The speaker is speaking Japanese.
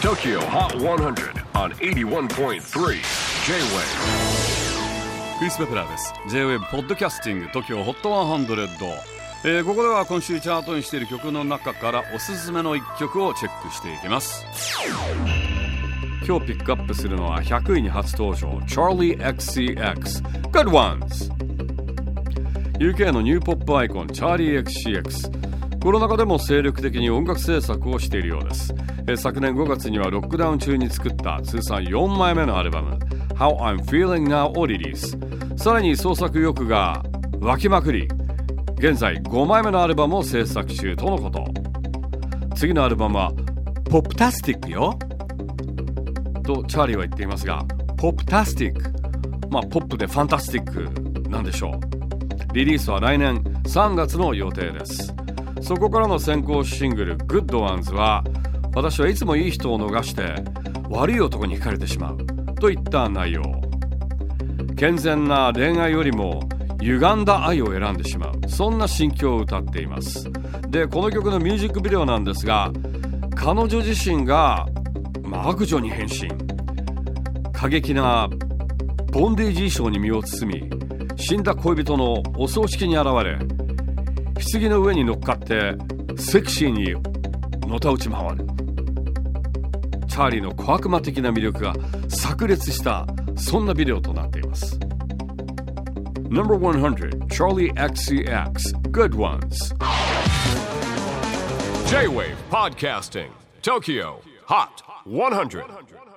TOKYO HOT 100 on 81.3 J-WAVE クリス・ベプラーです。 J-WAVE ポッドキャスティング TOKYO HOT 100、ここでは今週チャートにしている曲の中からおすすめの1曲をチェックしていきます。今日ピックアップするのは100位に初登場 Charlie XCX Good Ones。 UK のニューポップアイコンチャーリー XCX、 コロナ禍でも精力的に音楽制作をしているようです。昨年5月にはロックダウン中に作った通算4枚目のアルバム How I'm Feeling Now をリリース。さらに創作意欲が湧きまくり、現在5枚目のアルバムを制作中とのこと。次のアルバムはポップタスティックよとチャーリーは言っていますが、ポップタスティック、ポップでファンタスティックなんでしょう。リリースは来年3月の予定です。そこからの先行シングル Good Ones は、私はいつもいい人を逃して悪い男に惹かれてしまうといった内容。健全な恋愛よりも歪んだ愛を選んでしまう、そんな心境を歌っています。で、この曲のミュージックビデオなんですが、彼女自身が悪女に変身、過激なボンデージ衣装に身を包み、死んだ恋人のお葬式に現れ、棺の上に乗っかってセクシーにのたうち回る。チャーリーの小悪魔的な魅力が炸裂した、そんなビデオとなっています。 No.100 Charlie XCX Good Ones J-WAVE PODCASTING TOKYO HOT 100